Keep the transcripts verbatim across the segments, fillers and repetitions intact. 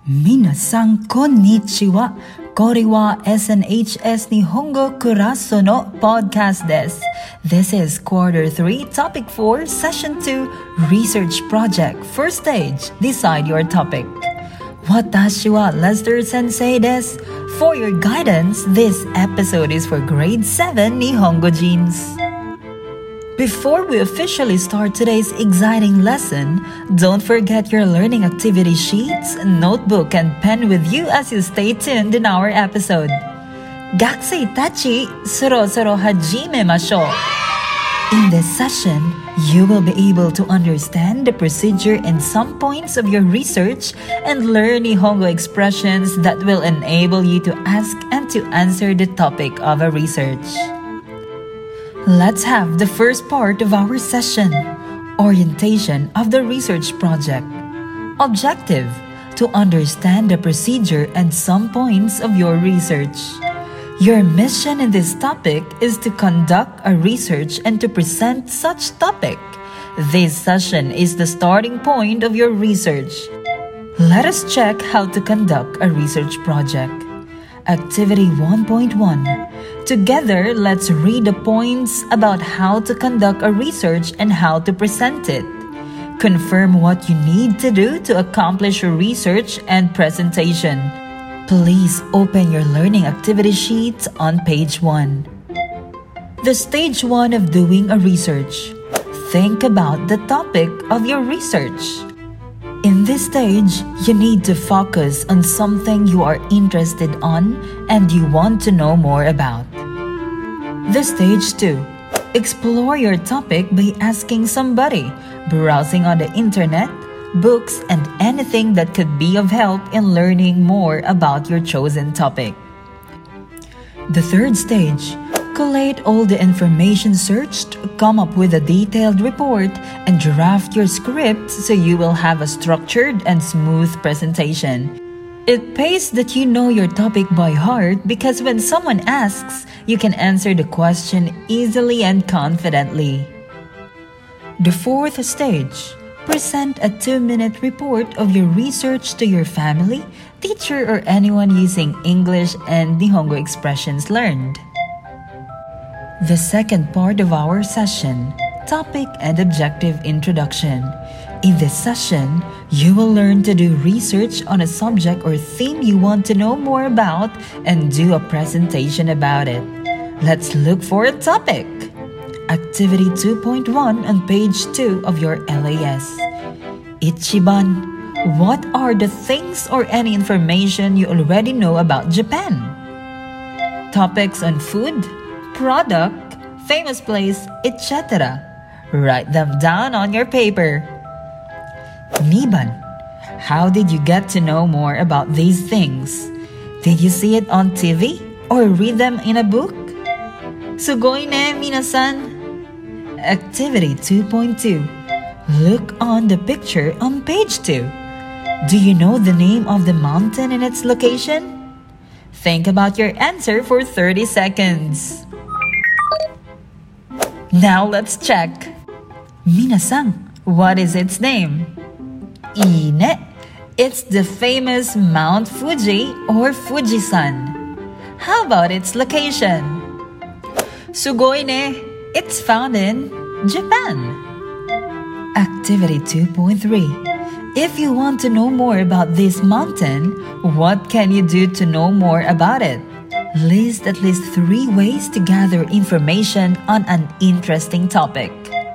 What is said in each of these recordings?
Minasan konnichiwa. Kore wa S N H S Nihongo Kuraso no podcast desu. This is quarter three, topic four, session two, research project. First stage, decide your topic. Watashi wa Lester Sensei desu. For your guidance, this episode is for grade seven Nihongo Jeans. Before we officially start today's exciting lesson, don't forget your learning activity sheets, notebook, and pen with you as you stay tuned in our episode. Gakusei tachi, soro-soro hajimemashou. In this session, you will be able to understand the procedure and some points of your research and learn Nihongo expressions that will enable you to ask and to answer the topic of a research. Let's have the first part of our session, orientation of the research project. Objective, to understand the procedure and some points of your research. Your mission in this topic is to conduct a research and to present such topic. This session is the starting point of your research. Let us check how to conduct a research project. Activity one point one. Together, let's read the points about how to conduct a research and how to present it. Confirm what you need to do to accomplish your research and presentation. Please open your learning activity sheets on page one. The stage one of doing a research. Think about the topic of your research. In this stage, you need to focus on something you are interested on and you want to know more about. The stage two. Explore your topic by asking somebody, browsing on the internet, books, and anything that could be of help in learning more about your chosen topic. The third stage. Collate all the information searched, come up with a detailed report, and draft your script so you will have a structured and smooth presentation. It pays that you know your topic by heart because when someone asks, you can answer the question easily and confidently. The fourth stage. Present a two-minute report of your research to your family, teacher, or anyone using English and Nihongo expressions learned. The second part of our session, topic and objective introduction. In this session, you will learn to do research on a subject or theme you want to know more about and do a presentation about it. Let's look for a topic. Activity two point one on page two of your L A S. Ichiban, what are the things or any information you already know about Japan? Topics on food, product, famous place, et cetera. Write them down on your paper. Niban, how did you get to know more about these things? Did you see it on T V or read them in a book? Sugoi ne, minasan. Activity two point two. Look on the picture on page two. Do you know the name of the mountain and its location? Think about your answer for thirty seconds. Now let's check. Minasan, what is its name? Ine. It's the famous Mount Fuji or Fujisan. How about its location? Sugoi ne. It's found in Japan. Activity two point three. If you want to know more about this mountain, what can you do to know more about it? List at least three ways to gather information on an interesting topic.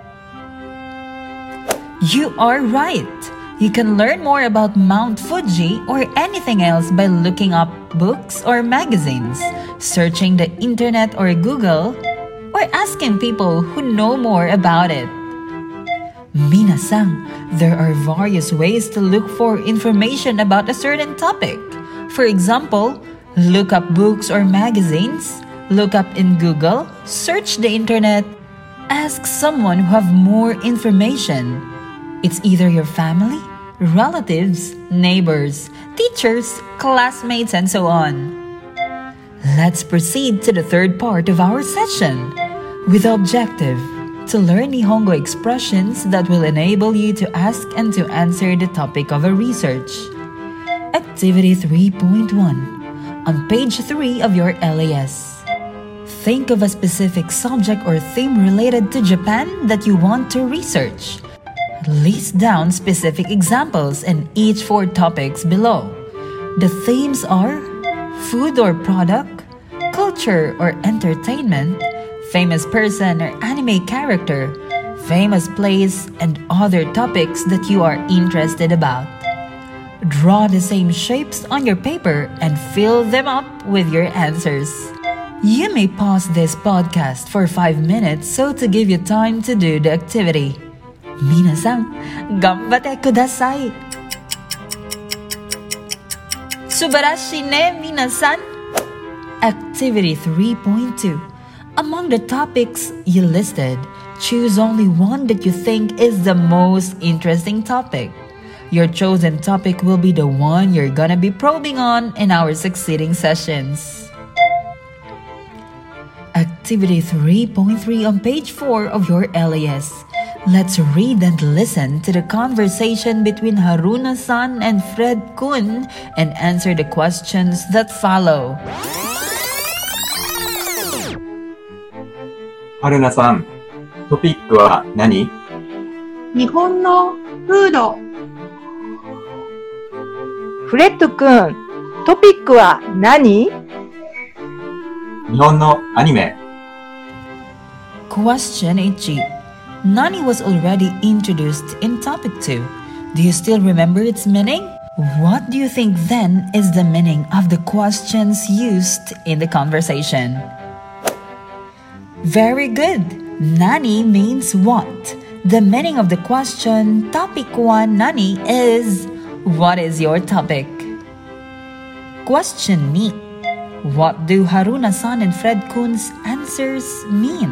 You are right. You can learn more about Mount Fuji or anything else by looking up books or magazines, searching the internet or Google, or asking people who know more about it. Minasan, there are various ways to look for information about a certain topic. For example, look up books or magazines, look up in Google, search the internet, ask someone who have more information. It's either your family, relatives, neighbors, teachers, classmates, and so on. Let's proceed to the third part of our session with the objective to learn Nihongo expressions that will enable you to ask and to answer the topic of a research. Activity three point one. On page three of your L A S. Think of a specific subject or theme related to Japan that you want to research. List down specific examples in each four topics below. The themes are food or product, culture or entertainment, famous person or anime character, famous place, and other topics that you are interested about. Draw the same shapes on your paper and fill them up with your answers. You may pause this podcast for five minutes so to give you time to do the activity. 皆さん、頑張ってください。素晴らしいね、皆さん。Activity three point two. Among the topics you listed, choose only one that you think is the most interesting topic. Your chosen topic will be the one you're gonna be probing on in our succeeding sessions. Activity three point three on page four of your L A S. Let's read and listen to the conversation between Haruna-san and Fred-kun and answer the questions that follow. はるなさん、トピックは何？ 日本のフード。 フレッド君、トピックは何？ 日本のアニメ。 Question one. Nani was already introduced in topic two. Do you still remember its meaning? What do you think then is the meaning of the questions used in the conversation? Very good. Nani means what? The meaning of the question topic one nani is what is your topic? Question two. What do Haruna-san and Fred-kun's answers mean?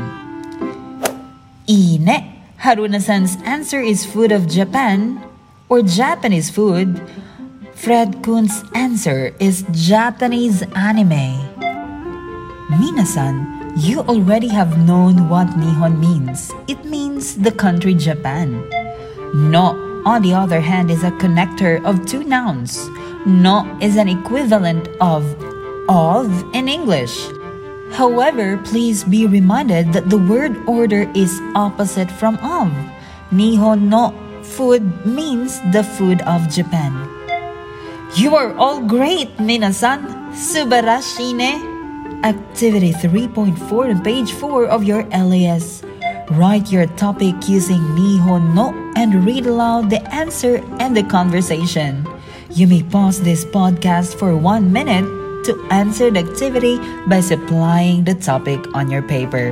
Ine. Haruna-san's answer is food of Japan or Japanese food. Fred-kun's answer is Japanese anime. Minasan, you already have known what Nihon means. It means the country Japan. No, on the other hand, is a connector of two nouns. No is an equivalent of of in English. However, please be reminded that the word order is opposite from of. Nihon no food means the food of Japan. You are all great, minasan. Subarashi ne. Activity three point four on page four of your L A S. Write your topic using Nihon no and read aloud the answer and the conversation. You may pause this podcast for one minute to answer the activity by supplying the topic on your paper.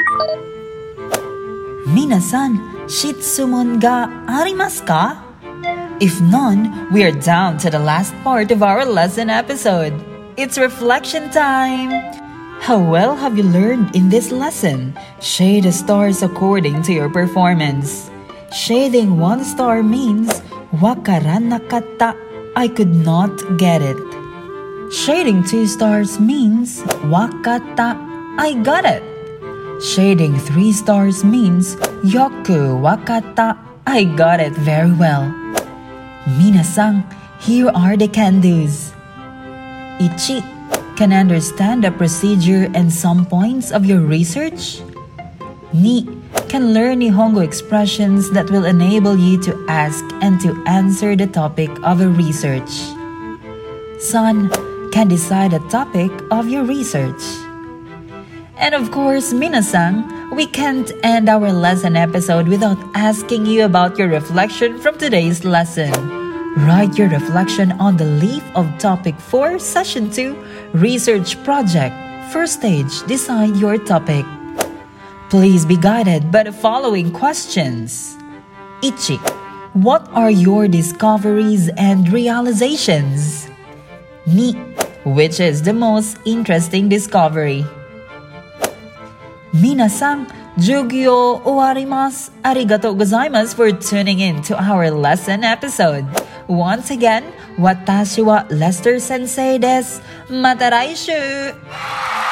Minasan, shitsumon ga arimasu ka? If none, we are down to the last part of our lesson episode. It's reflection time! How well have you learned in this lesson? Shade the stars according to your performance. Shading one star means wakaran nakatta, I could not get it. Shading two stars means wakatta, I got it. Shading three stars means yoku wakatta, I got it very well. Minasan, here are the can-dos. Ichi, can understand the procedure and some points of your research. Ni, can learn Nihongo expressions that will enable you to ask and to answer the topic of a research. San, can decide the topic of your research. And of course, minasan, we can't end our lesson episode without asking you about your reflection from today's lesson. Write your reflection on the leaf of topic four, session two, research project. First stage, decide your topic. Please be guided by the following questions. Ichi, what are your discoveries and realizations? Ni, which is the most interesting discovery? Minasan, jugyo owarimasu. Arigatou gozaimasu for tuning in to our lesson episode. Once again, watashi wa Lester Sensei desu. Mata raishu!